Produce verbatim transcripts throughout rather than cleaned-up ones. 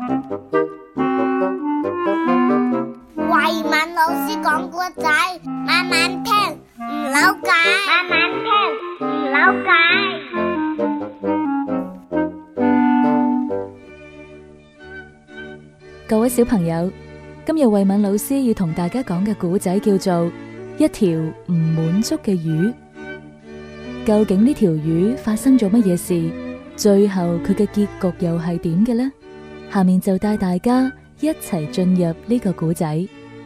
慧敏老師講故仔，慢慢聽，唔扭計，慢慢聽，唔扭計。 各位小朋友，今日慧敏老師要同大家講嘅故仔叫做一條唔滿足嘅魚。究竟呢條魚發生咗乜嘢事？最後佢嘅結局又係點嘅呢？下面就帶大家一齊進入呢個故仔。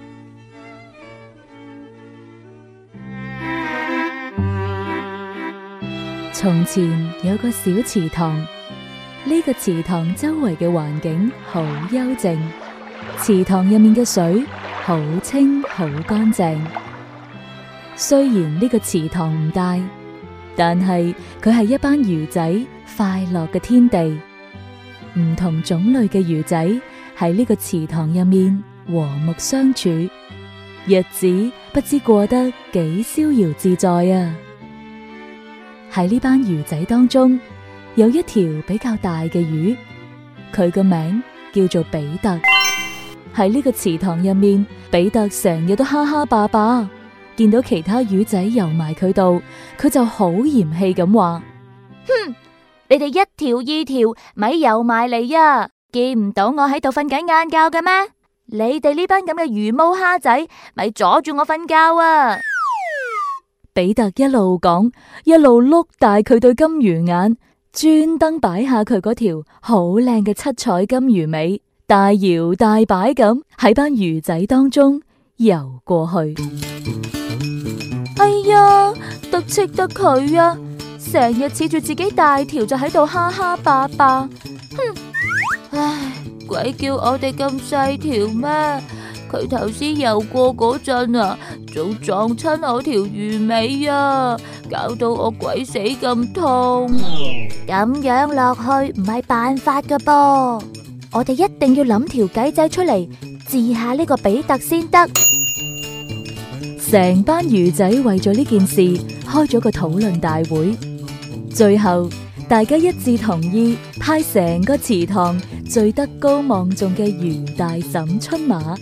從前有個小池塘，呢個池塘周圍嘅環境好幽靜，池塘入面嘅水好清好乾淨。雖然呢個池塘唔大，但係佢係一班魚仔快樂嘅天地。唔同種類嘅魚仔喺呢個池塘入面和睦相處，日子不知過得幾逍遙自在啊！喺呢班魚仔當中，有一條比較大嘅魚，佢個名叫做比特。喺呢個池塘入面，比特成日都哈哈霸霸，見到其他魚仔游埋佢度，佢就好嫌棄咁話： 哼，你哋一條二條咪游埋嚟啊！見唔到我喺度瞓緊晏覺嘅咩？你哋呢班咁嘅魚毛蝦仔，咪阻住我瞓覺啊！ 比特一路講，一路碌大佢對金魚眼，專登擺下佢嗰條好靚嘅七彩金魚尾，大搖大擺咁喺班魚仔當中游過去。 哎呀，得戚得佢啊！成日恃住自己大條就喺度哈哈霸霸，哼！唉，鬼叫我哋咁細條咩？佢頭先游過嗰陣啊，仲撞親我條魚尾啊，搞到我鬼死咁痛。咁樣落去唔係辦法噶噃，我哋一定要諗條計仔出嚟治下呢個比特先得。 成班魚仔為咗呢件事開咗個討論大會，最後大家一致同意派成個池塘最德高望重嘅魚大嬸出馬。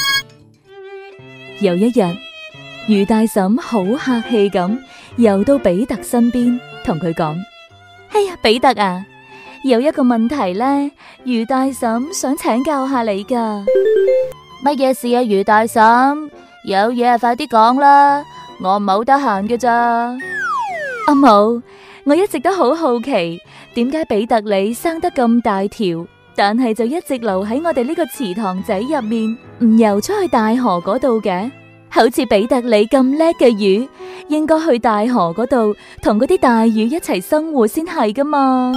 有一日，魚大嬸好客氣咁游到比特身邊，同佢講：哎呀，比特啊，有一個問題呢，魚大嬸想請教下你噶。 乜嘢事啊，魚大嬸？有嘢啊，快啲講啦，我冇得閒嘅咋。 阿母，我一直都好好奇，點解比特你生得咁大條，但係就一直留喺我哋呢個池塘仔入面，唔游出去大河嗰度嘅？好似比特你咁叻嘅魚，應該去大河嗰度同嗰啲大魚一齊生活先係噶嘛。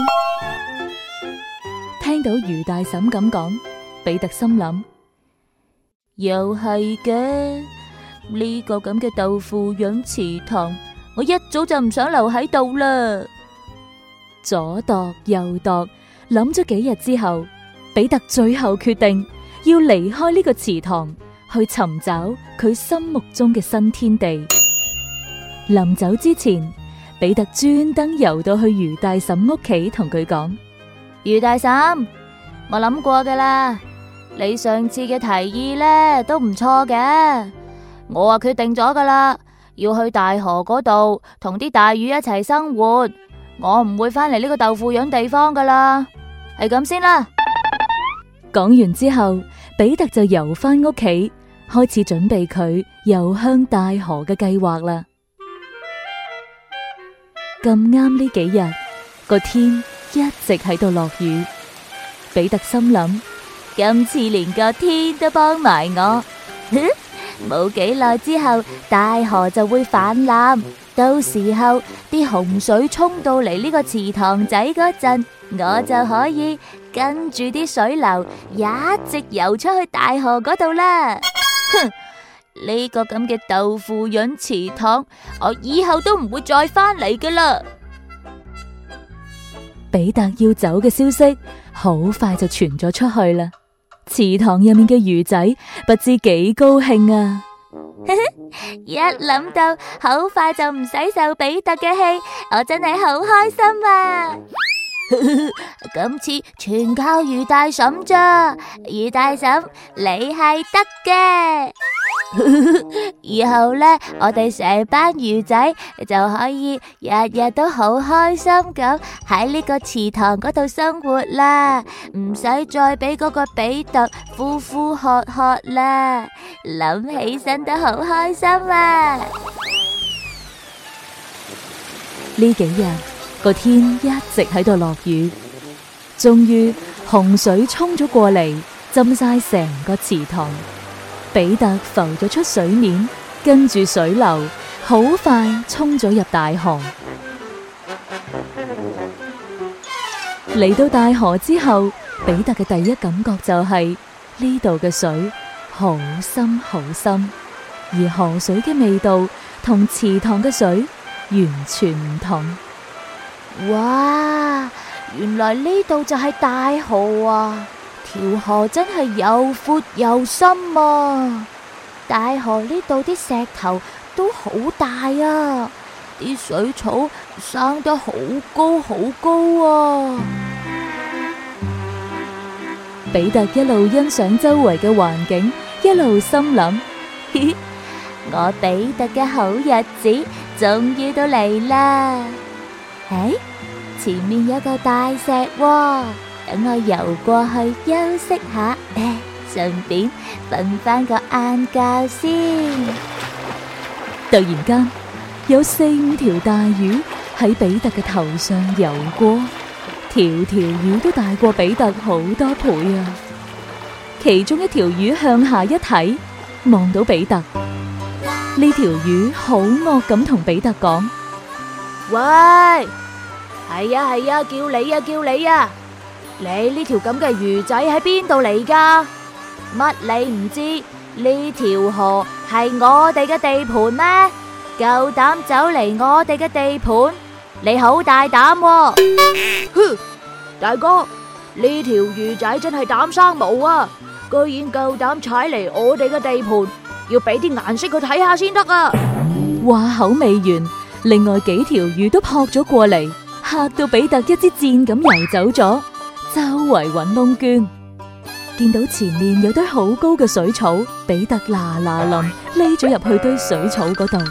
聽到魚大嬸咁講，比特心諗， 又係嘅，呢個咁嘅豆腐膶池塘，我一早就唔想留喺度啦。 左度右度，諗咗幾日之後，比特最後決定要離開呢個池塘，去尋找佢心目中嘅新天地。臨走之前，比特專登游到去魚大嬸屋企，同佢講： 魚大嬸，我諗過噶啦，你上次嘅提議呢都唔錯嘅，我啊決定咗噶啦，要去大河嗰度同啲大魚一齊生活，我唔會翻嚟呢個豆腐膶地方噶啦，係咁先啦。 講完之後，比特就游翻屋企，開始準備佢游向大河嘅計劃啦。咁啱呢幾日個天一直喺度落雨，比特心諗， 今次連個天都幫埋我，冇幾耐之後大河就會泛濫，到時候啲洪水沖到嚟呢個池塘仔嗰陣，我就可以跟住啲水流一直游出去大河嗰度啦。哼！呢個咁嘅豆腐膶池塘，我以後都唔會再翻嚟噶啦。 比特要走嘅消息好快就傳咗出去啦，池塘入面嘅魚仔不知幾高興啊！ 一諗到好快就唔使受比特嘅氣，我真係好開心啊！ 今次全靠魚大嬸咋，魚大嬸你係得嘅。以後呢，我哋成班魚仔就可以日日都好開心咁喺呢個池塘嗰度生活啦，唔使再俾嗰個比特呼呼喝喝啦，諗起身都好開心啊！ 呢幾日個天一直喺度落雨，終於洪水衝咗過嚟，浸晒成個池塘。比特浮咗出水面，跟住水流好快衝咗入大河。嚟到大河之後，比特嘅第一感覺就係呢度嘅水好深好深，而河水嘅味道同池塘嘅水完全唔同。 哇！原來呢度就係大河啊！條河真係又闊又深啊！大河呢度啲石頭都好大啊，啲水草生得好高好高啊！ 比特一路欣賞周圍嘅環境，一路心諗：嘻嘻， 我比特嘅好日子終於都嚟啦！誒，前面有個大石喎。等我游過去休息下，順便瞓翻個晏覺先。 突然間，有四五條大魚喺比特嘅頭上游過，條條魚都大過比特好多倍啊！其中一條魚向下一睇，望到比特，呢條魚好惡咁同比特講： 喂，係啊係啊，叫你啊叫你啊！你呢條咁嘅魚仔喺邊度嚟噶？乜你唔知呢條河係我哋嘅地盤咩？夠膽走嚟我哋嘅地盤，你好大膽喎！哼，大哥，呢條魚仔真係膽生毛啊！居然夠膽踩嚟我哋嘅地盤，要俾啲顏色佢睇下先得啊！ 話口未完，另外幾條魚都撲咗過嚟，嚇到比特一支箭咁游走咗。周圍揾窿捐，見到前面有堆好高嘅水草，比特嗱嗱臨匿咗入去堆水草嗰度。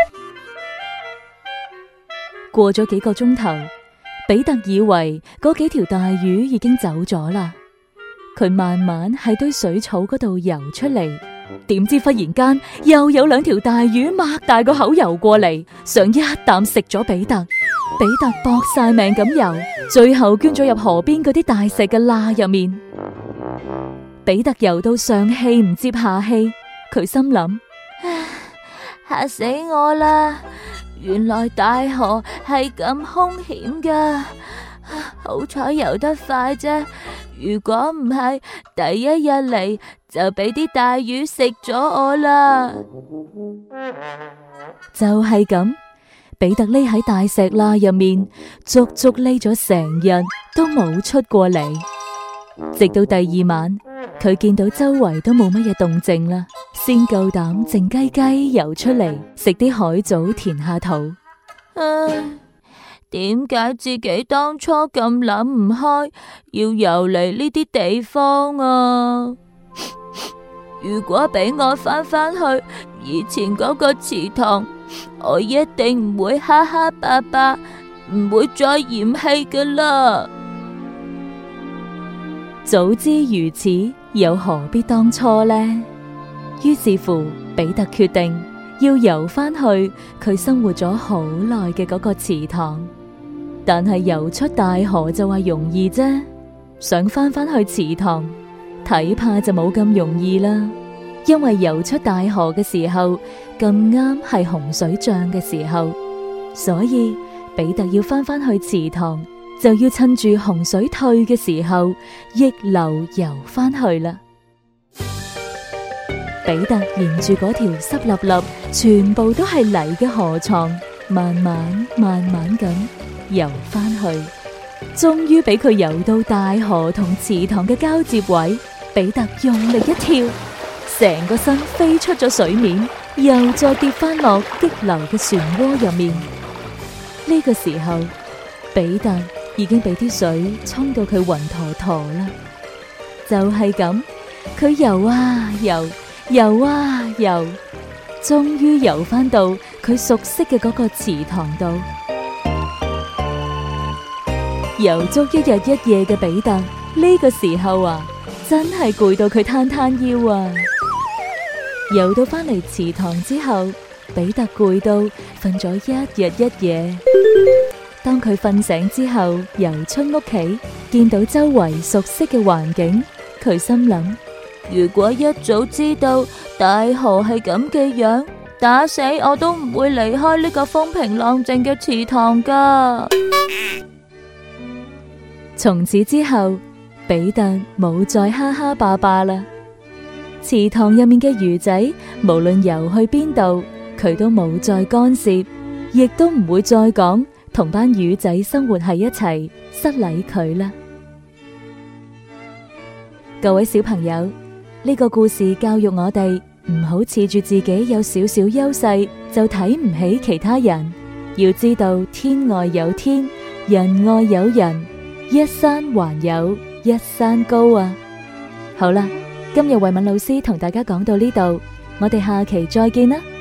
過咗幾個鐘頭，比特以為嗰幾條大魚已經走咗啦，佢慢慢喺堆水草嗰度游出嚟，點知忽然間又有兩條大魚擘大個口游過嚟，想一啖食咗比特。比特搏晒命咁游，最後捐咗入河邊嗰啲大石嘅罅入面。比特游到上氣唔接下氣，佢心諗：唉，嚇死我啦！原來大河係咁兇險噶，好彩游得快啫。如果唔係，第一日嚟就俾啲大魚食咗我啦。就係咁。比特匿喺大石罅入面，足足匿咗成日都冇出過嚟。直到第二晚，佢見到周圍都冇乜嘢動靜啦，先夠膽靜雞雞游出嚟食啲海藻填下肚。 唉，點解自己當初咁諗唔開，要游嚟呢啲地方啊？如果俾我翻返去以前嗰個池塘，我一定唔會哈哈爸爸，唔會再嫌棄噶啦。 早知如此，又何必當初呢？於是乎，比特決定要游翻去佢生活咗好耐嘅嗰個池塘。但係游出大河就話容易啫，想翻返去池塘，睇怕就冇咁容易啦。因為游出大河嘅時候咁啱係洪水漲嘅時候，所以比特要翻返去池塘，就要趁住洪水退嘅時候逆流游翻去啦。比特沿住嗰條濕立立、全部都係泥嘅河床，慢慢慢慢咁游翻去，終於俾佢游到大河同池塘嘅交接位，比特用力一跳，成個身飛出咗水面，又再跌翻落激流嘅漩渦入面。呢個時候，比特已經俾啲水沖到佢暈陀陀啦。就係咁，佢游啊游，游啊游，終於游返到佢熟悉嘅嗰個池塘度。游足一日一夜嘅彼得呢個時候啊，真係攰到佢攤攤腰啊！游到返嚟池塘之後，彼得攰到瞓咗一日一夜。當佢瞓醒之後，游出屋企，見到周圍熟悉嘅環境，佢心諗：如果一早知道大河係咁嘅樣，打死我都唔會離開呢個風平浪靜嘅池塘噶。從此之後，彼得冇再哈哈霸霸啦。池塘入面嘅魚仔，無論游去邊度，佢都冇再干涉，亦都唔會再講同班魚仔生活喺一齊，失禮佢啦。各位小朋友，呢個故事教育我哋唔好恃住自己有少少優勢就睇唔起其他人，要知道天外有天，人外有人，一山還有一山高啊！好啦，今日慧敏老師同大家講到呢度，我哋下期再見啦。